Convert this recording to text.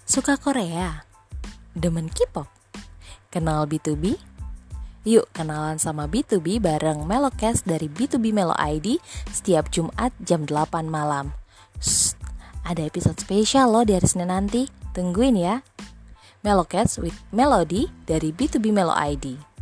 Suka Korea? Demen K-pop? Kenal B2B? Yuk kenalan sama B2B bareng Melocast dari B2B Melo ID setiap Jumat jam 8 malam. Shh, ada episode spesial loh di hari Senin nanti. Tungguin ya. Melocast with Melody dari B2B Melo ID.